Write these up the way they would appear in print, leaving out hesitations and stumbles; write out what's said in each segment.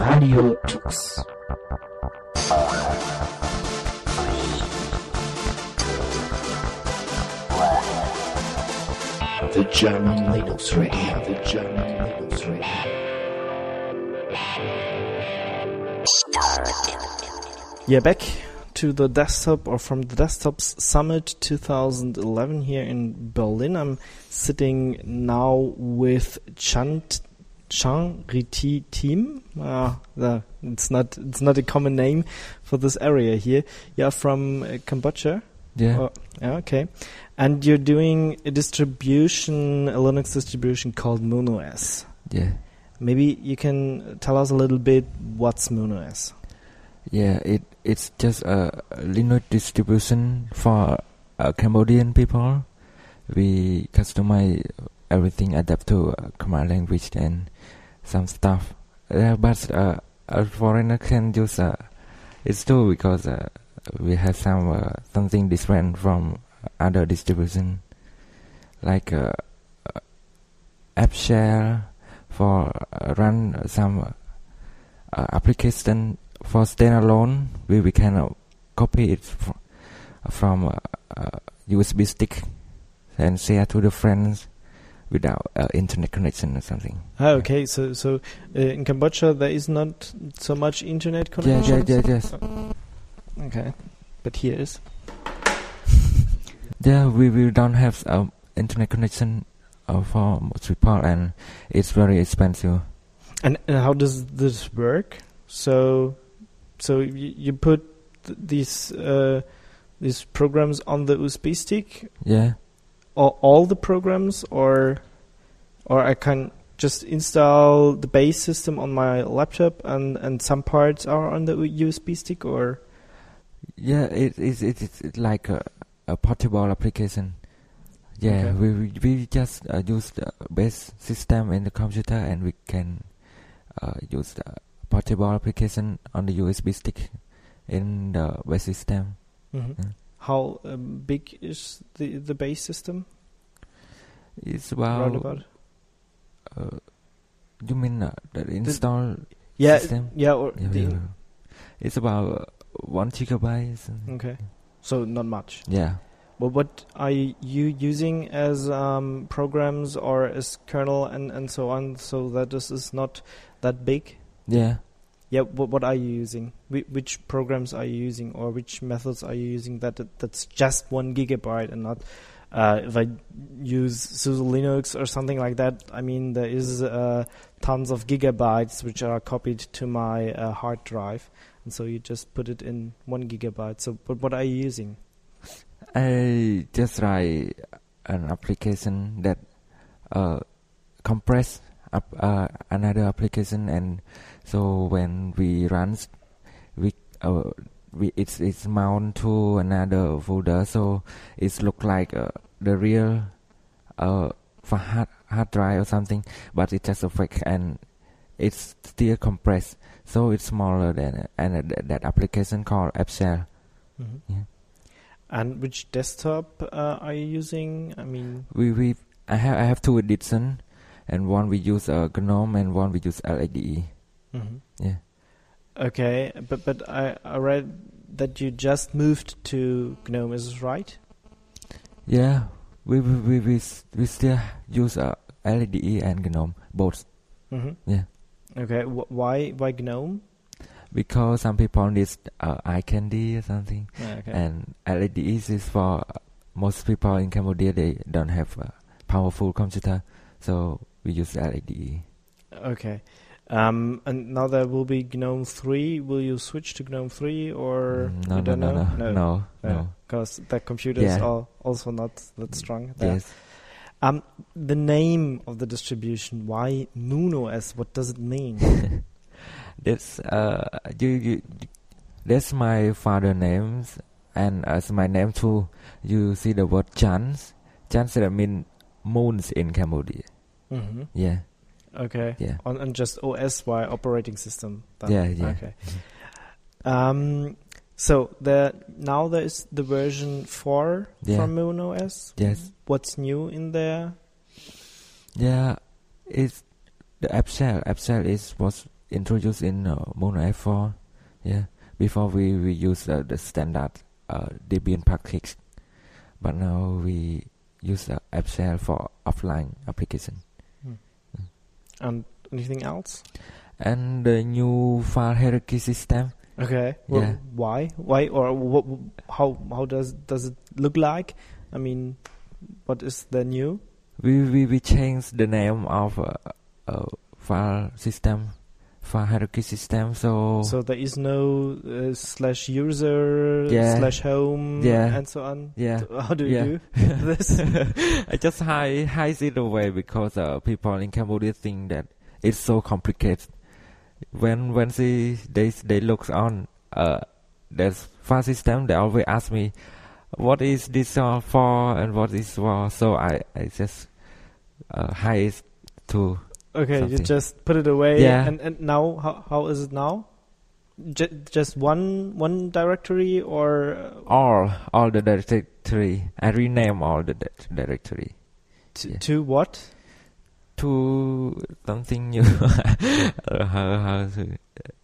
Radio Tux. The German Linux Radio. The German Linux Radio. Yeah, back to the desktop, or from the Desktops Summit 2011 here in Berlin. I'm sitting now with Chan Riti Team. It's not a common name for this area here. You're from Cambodia. Yeah. Okay. And you're doing a Linux distribution called MonoS. Yeah. Maybe you can tell us a little bit what's MonoS. Yeah, it's just a Linux distribution for Cambodian people. We customize everything, adapt to command language and some stuff. But a foreigner can use it's too, because we have something different from other distribution, like app share for run some application for standalone. We can copy it from USB stick and share to the friends without internet connection or something. Okay, so in Cambodia there is not so much internet connection. Yes. Okay, but here is. Yeah, we don't have internet connection for most people, and it's very expensive. And how does this work? So you put these programs on the USB stick? Yeah. Or all the programs, or I can just install the base system on my laptop, and some parts are on the USB stick, or? Yeah, it's like a portable application. Yeah, okay. we just use the base system in the computer, and we can use the portable application on the USB stick in the base system. Mm-hmm. Yeah. How big is the base system? It's about. You mean the install system? Yeah, it's about 1 gigabyte. Okay, so not much. Yeah. Well, what are you using as programs or as kernel and so on, so that this is not that big? Yeah. Yeah. What are you using? Which programs are you using, or which methods are you using that's just 1 gigabyte and not? If I use SUSE Linux or something like that, I mean there is tons of gigabytes which are copied to my hard drive, and so you just put it in 1 gigabyte. So, what are you using? I just write an application that compress another application, and so when we run, it's mount to another folder, so it look like the real for hard drive or something, but it's just a fake, and it's still compressed, so it's smaller than that application called AppShare. Mm-hmm. Yeah. And which desktop are you using? I mean, I have two editions, and one we use GNOME and one we use LXDE. Mm-hmm. Yeah. Okay, but I read that you just moved to GNOME. Is this right? Yeah, we still use LXDE and GNOME both. Mm-hmm. Yeah. Okay, why GNOME? Because some people need eye candy or something, okay. And LXDE is for most people in Cambodia. They don't have a powerful computer, so we use LXDE. Okay. And now there will be GNOME 3. Will you switch to GNOME 3 or No. Because the computers are also not that strong there. Yes. The name of the distribution, why MonoS? What does it mean? That's that's my father's name, and as my name too. You see the word Chans. Chans that mean moons in Cambodia. Mm-hmm. Yeah. Okay. Yeah. And just OS, why operating system? Yeah. Okay. Mm-hmm. So there is the version 4 from MonoS. Yes. What's new in there? Yeah, it's the AppShare. AppShare was introduced in Mono F4. Yeah, before we use the standard Debian package, but now we use AppShare for offline application. And anything else? And the new file hierarchy system. Okay. Well, Yeah. why? Why or how does it look like? I mean, what is the new? We changed the name of file system, file hierarchy system. So there is no /user Yeah. /home Yeah. and so on. yeah, So how do you Yeah. do this? I just hide it away because people in Cambodia think that it's so complicated. When they look on there's file system, they always ask me, what is this for and what is for? So I just hide it to Okay, you something. just put it away. Yeah. And now how is it now? Just one directory or all the directory. I rename all the directory yeah. to what? to something new. how to,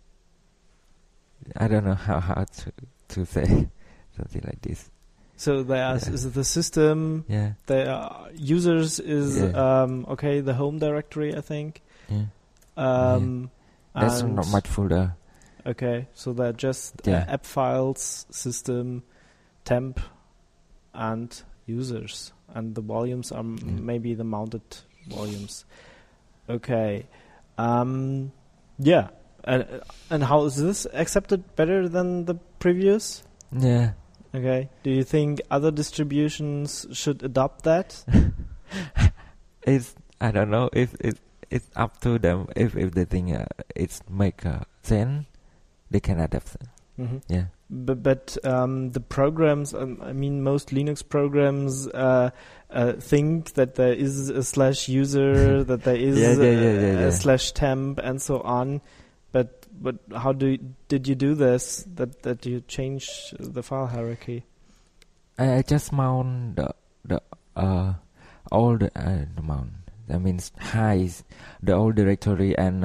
I don't know how to say something like this. So is the system. Yeah. The users is Yeah. the home directory, I think. Yeah. That's and- not much folder. Okay, so they're just Yeah. app files, system, temp, and users, and the volumes are maybe the mounted volumes. Okay, yeah, and how is this accepted better than the previous? Yeah. Okay, do you think other distributions should adopt that? I don't know if it's up to them. If they think it's make sense, they can adapt it. Mm-hmm. Yeah. But the programs, I mean, most Linux programs think that there is a /user, that there is Yeah. a /temp, and so on. But how did you do this? That you change the file hierarchy? I just mount the old mount. That means hides the old directory and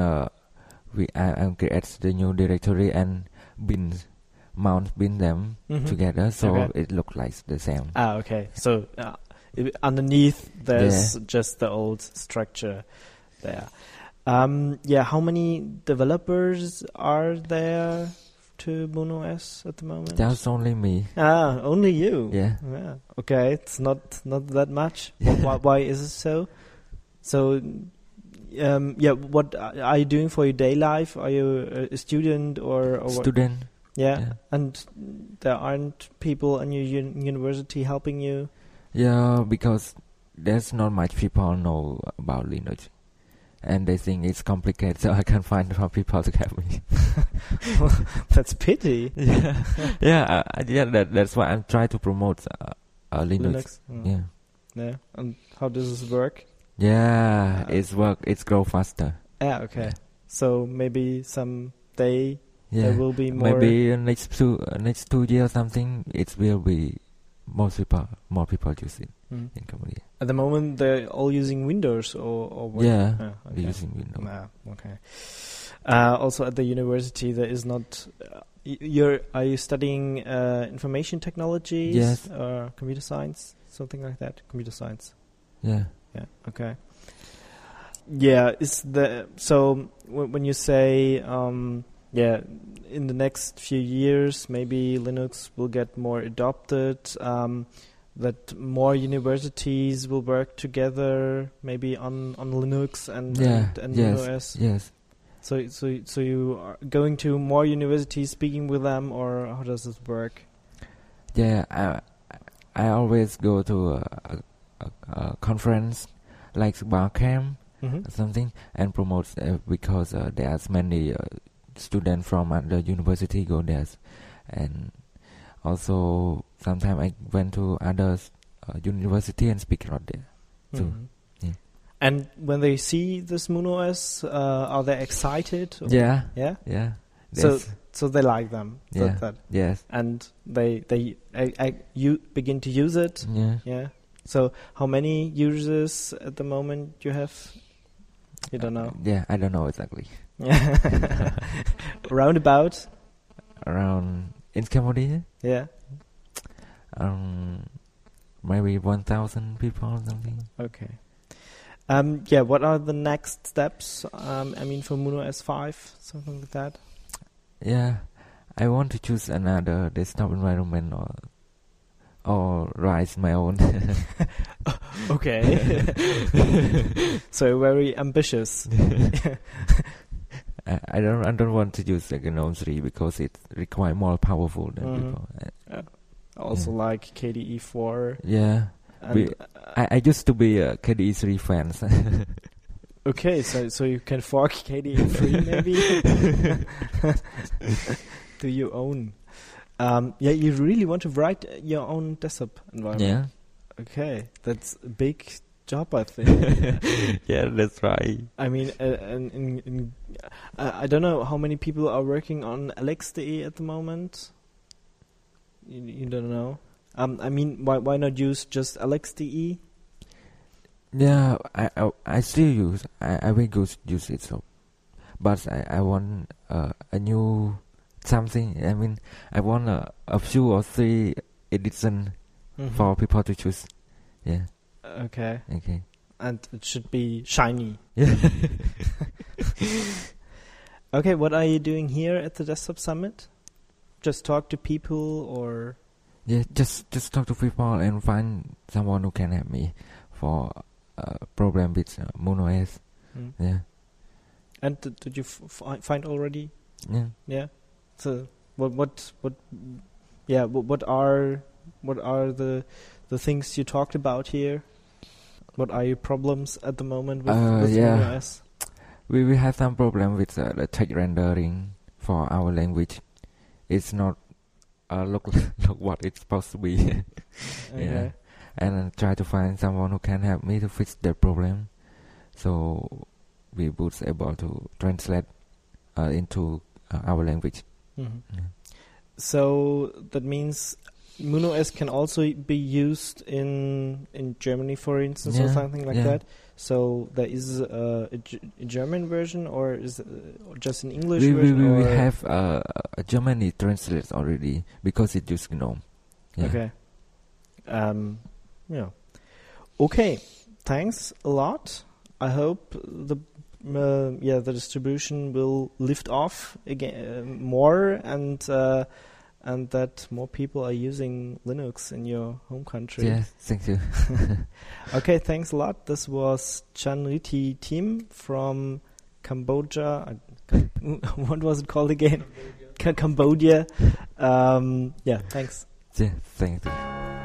I create the new directory and mount them together, so Okay. it looks like the same. Okay. So underneath there's just the old structure there. How many developers are there to Mono OS at the moment? That's only me. Only you. Yeah. Okay, it's not that much. Why is it so? So, what are you doing for your day life? Are you a student or what? Student. Yeah. And there aren't people in your university helping you? Yeah, because there's not much people know about Linux. And they think it's complicated, so I can't find some people to help me. That's pity. That's why I'm trying to promote Linux. Mm. Yeah. And how does this work? Yeah, it's grow faster. Yeah, okay. Yeah. So maybe someday Yeah, there will be more. maybe next 2 years or something, it will be more people use it in Cambodia. At the moment, they're all using Windows or what? Yeah, okay. they're using Windows. Okay. Also, at the university, there is not. Are you studying information technologies? Yes. Or computer science, something like that. Computer science. Yeah. Yeah. Okay. Yeah. So when you say in the next few years maybe Linux will get more adopted, that more universities will work together maybe on Linux and yes, OS. Yes. So you are going to more universities, speaking with them, or how does this work? Yeah, I always go to a conference like Barcamp or something and promote because there's many students from the university go there, and also sometimes I went to other university and speak out there too. Yeah. And when they see this Mono OS, are they excited? Or? Yeah. Yeah. So they like them. Yeah. Yes. And you begin to use it. Yeah. Yeah. So how many users at the moment you have? You don't know. Yeah, I don't know exactly. Roundabout. Around in Cambodia, Yeah. maybe 1,000 people or something. Okay. Yeah. What are the next steps? I mean, for Muno S5, something like that. Yeah, I want to choose another desktop environment or write my own. Okay. So very ambitious. I don't want to use like a GNOME 3 because it requires more powerful than Mhm. before. Also like KDE 4. Yeah, And, I used to be a KDE 3 fan. okay, so you can fork KDE 3 maybe. Do your own. Yeah, you really want to write your own desktop environment. Yeah. Okay, that's a big job, I think. Yeah, that's right. I mean, I don't know how many people are working on LXDE at the moment. You don't know. I mean, why not use just LXDE? Yeah, I still use. I will use it. So, but I want a new something. I mean, I want a few or three edition for people to choose. Yeah. Okay. Okay. And it should be shiny. Yeah. Okay, what are you doing here at the Desktop Summit? Just talk to people, or? Yeah, just talk to people and find someone who can help me for problem with Muno OS. Yeah. And did you find already? Yeah. Yeah. So what are the things you talked about here? What are your problems at the moment with yeah. Muno OS? We have some problem with the text rendering for our language. It's not look what it's supposed to be. Okay. Yeah. And try to find someone who can help me to fix that problem. So we would be able to translate into our language. Mm-hmm. Yeah. So that means Muno OS can also be used in Germany, for instance, or something like that. So there is a German version, or is it just an English version? We have a Germany translate already because it used GNOME. Yeah. Okay. Yeah. Okay. Thanks a lot. I hope the distribution will lift off again more, and that more people are using Linux in your home country. Yeah, thank you. Okay, thanks a lot. This was Chanriti Tim from Cambodia. What was it called again? Cambodia. Yeah, thanks. Yeah, thank you.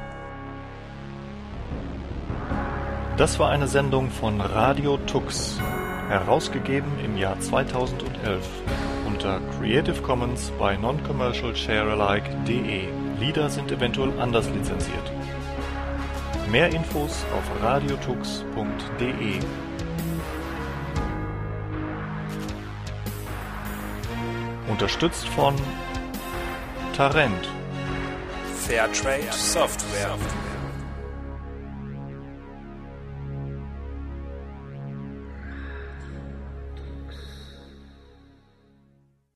Das war eine Sendung von Radio Tux, herausgegeben im Jahr 2011 unter Creative Commons bei noncommercialsharealike.de. Lieder sind eventuell anders lizenziert. Mehr Infos auf radiotux.de. Unterstützt von Tarent. Fairtrade Software.